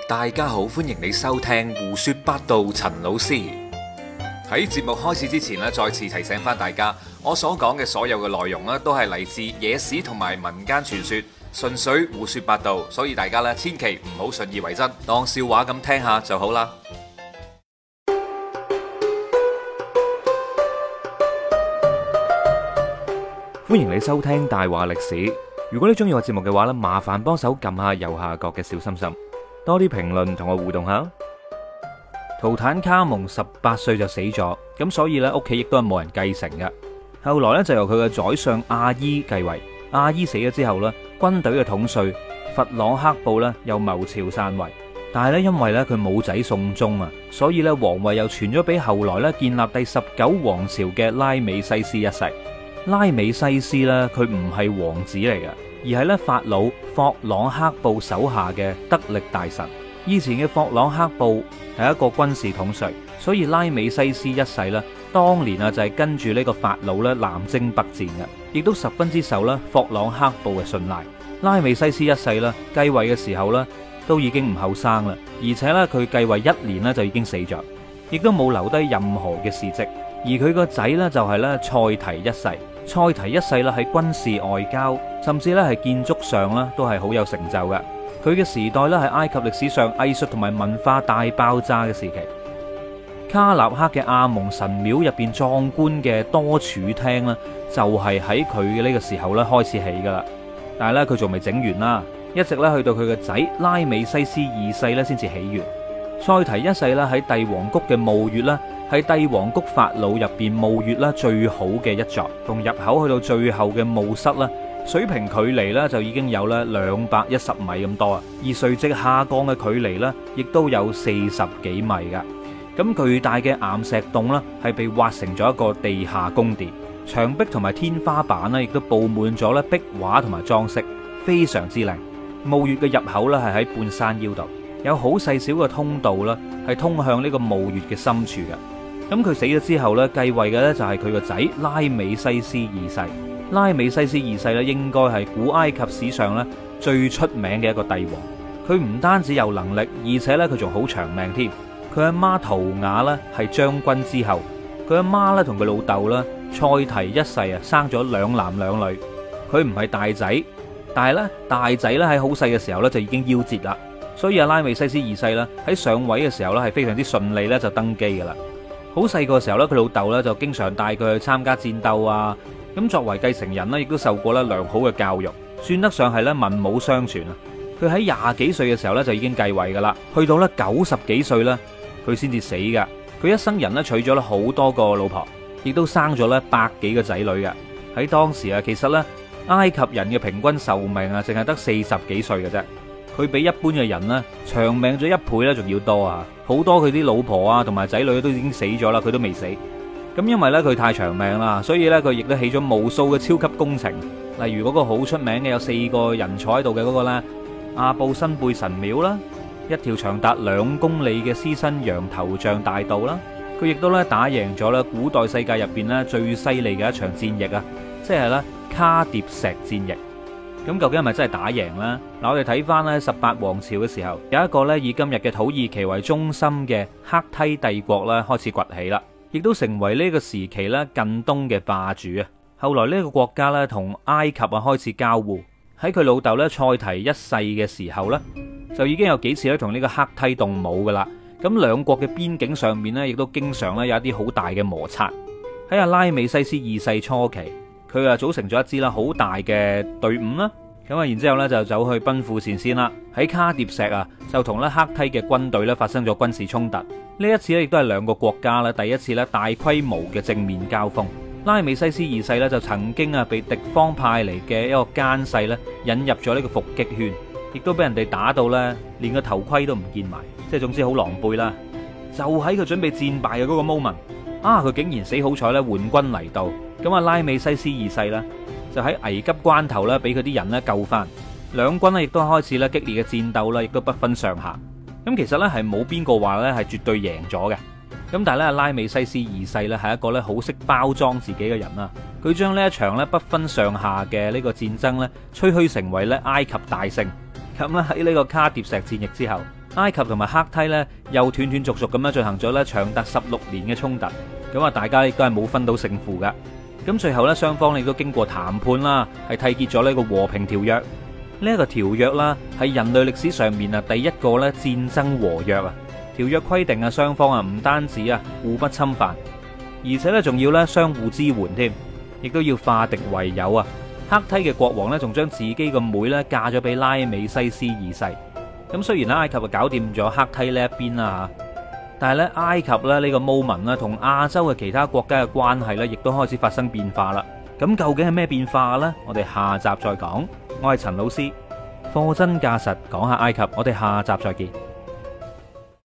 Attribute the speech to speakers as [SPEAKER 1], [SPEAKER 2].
[SPEAKER 1] 大家好，歡迎你收聽胡說八道。陳老師喺節目開始之前咧，再次提醒翻大家，我所講嘅所有嘅內容咧，都係嚟自野史同埋民間傳說，純粹胡說八道，所以大家咧千祈唔好信以為真，當笑話咁聽下就好啦。歡迎你收聽大話歷史。如果你中意我節目嘅話咧，麻煩幫手撳下右下角嘅小心心，多啲評論同我互動下。圖坦卡蒙18歲就死咗，咁所以咧屋企亦都係冇人繼承嘅。後來咧就由佢嘅宰相阿伊繼位。阿伊死咗之後咧，軍隊嘅統帥弗朗克布咧又謀朝篡位，但係咧因為咧佢冇仔送終啊，所以咧皇位又傳咗俾後來咧建立第19王朝嘅拉美西斯一世。拉美西斯咧，佢唔係王子嚟嘅，而係咧法老霍朗克布手下嘅得力大臣。以前嘅霍朗克布係一個軍事統帥，所以拉美西斯一世咧，當年啊就係跟住呢個法老咧南征北戰嘅，亦都十分之受咧霍朗克布嘅信賴。拉美西斯一世咧繼位嘅時候咧，都已經唔後生啦，而且咧佢繼位1年咧就已經死咗，亦都冇留低任何嘅事跡。而佢個仔咧就係咧塞提一世。塞提一世啦，喺軍事外交，甚至咧係建築上咧，都係好有成就嘅。佢嘅時代咧係埃及歷史上藝術同埋文化大爆炸嘅時期。卡納克嘅阿蒙神廟入邊壯觀嘅多柱廳咧，就係喺佢嘅呢個時候咧開始起噶啦。但係咧佢仲未整完啦，一直咧去到佢嘅仔拉美西斯2世咧先至起完。塞提一世咧喺帝王谷嘅墓穴咧，係帝王谷法老入邊墓穴啦最好嘅一座，從入口去到最後嘅墓室啦，水平距離咧就已經有咧210米咁多啊，而垂直下降嘅距離咧亦都有40幾米噶。咁巨大嘅岩石洞啦，係被挖成咗一個地下宮殿，牆壁同埋天花板咧亦都布滿咗咧壁畫同埋裝飾，非常之靚。墓穴嘅入口咧係喺半山腰度，有好細小嘅通道啦，係通向呢個墓穴嘅深處嘅。咁佢死咗之後咧，繼位嘅咧就係佢個仔拉美西斯2世。拉美西斯2世咧，應該係古埃及史上咧最出名嘅一個帝王。佢唔單止有能力，而且咧佢仲好長命添。佢阿媽圖雅咧係將軍之後，佢阿媽咧同佢老豆啦塞提一世啊生咗2男2女。佢唔係大仔，但係咧大仔咧喺好細嘅時候咧就已經夭折啦。所以阿拉美西斯2世啦喺上位嘅時候咧係非常之順利咧就登基噶啦。好細個時候咧，佢老豆咧就經常帶佢去參加戰鬥啊。咁作為繼承人咧，亦都受過咧良好嘅教育，算得上係咧文武雙全啊。佢喺20幾歲嘅時候咧就已經繼位噶啦，去到咧90幾歲咧佢先至死噶。佢一生人咧娶咗咧好多個老婆，亦都生咗咧100幾個仔女嘅。喺當時啊，其實咧埃及人嘅平均壽命啊，淨係得40幾歲嘅啫。佢比一般嘅人咧長命咗1倍咧，仲要多啊！好多佢啲老婆啊同埋仔女都已經死咗啦，佢都未死。咁因為咧佢太長命啦，所以咧佢亦都起咗無數嘅超級工程，例如嗰個好出名嘅有4個人坐喺度嘅嗰個咧阿布辛貝神廟啦，一條長達2公里嘅獅身羊頭像大道啦。佢亦都咧打贏咗咧古代世界入邊咧最犀利嘅一場戰役啊，即係咧卡疊石戰役。咁究竟係咪真係打贏呢？嗱，我哋睇翻咧18王朝嘅時候，有一個咧以今日嘅土耳其為中心嘅赫梯帝國咧開始崛起啦，亦都成為呢個時期咧近東嘅霸主啊。後來呢個國家咧同埃及啊開始交互，喺佢老豆咧塞提一世嘅時候咧，就已經有幾次咧同呢個赫梯動武噶啦。咁兩國嘅邊境上面咧，亦都經常咧有一啲好大嘅摩擦。喺阿拉美西斯2世初期，佢啊組成咗一支啦好大嘅隊伍啦，咁啊然之後咧就走去奔赴前線啦。喺卡疊石啊，就同咧赫梯嘅軍隊咧發生咗軍事衝突。呢一次咧亦都係兩個國家咧第一次咧大規模嘅正面交鋒。拉美西斯2世咧就曾經啊被敵方派嚟嘅一個奸細咧引入咗呢個伏擊圈，亦都俾人哋打到咧連個頭盔都唔見埋，即係總之好狼狽啦。就喺佢準備戰敗嘅嗰個 moment，佢竟然死好彩咧，援軍嚟到。咁啊，拉美西斯2世咧就喺危急關頭咧，俾佢啲人咧救翻。兩軍咧亦都開始咧激烈嘅戰鬥啦，亦都不分上下。咁其實咧係冇邊個話咧係絕對贏咗嘅。咁但係咧，拉美西斯2世咧係一個咧好識包裝自己嘅人啦。佢將呢一場咧不分上下嘅呢個戰爭咧吹噓成為咧埃及大勝。咁咧喺呢個卡疊石戰役之後， 埃及同埋赫梯咧又斷斷續續咁樣進行咗咧長達16年嘅衝突，咁啊大家亦都係冇分到勝負噶。咁最後咧雙方亦都經過談判啦，係締結咗呢個和平條約。呢一個條約啦係人類歷史上面啊第一個咧戰爭和約啊。條約規定啊雙方啊唔單止啊互不侵犯，而且咧仲要咧相互支援添，亦都要化敵為友啊。赫梯嘅國王咧仲將自己個妹咧嫁咗俾拉美西斯二世。咁雖然咧埃及啊搞掂咗赫梯呢一邊啦吓，但係咧埃及咧呢個 moment 啦同亞洲嘅其他國家嘅關係咧亦都開始發生變化啦。咁究竟係咩變化呢？我哋下集再講。我係陳老師，貨真價實講下埃及，我哋下集再見。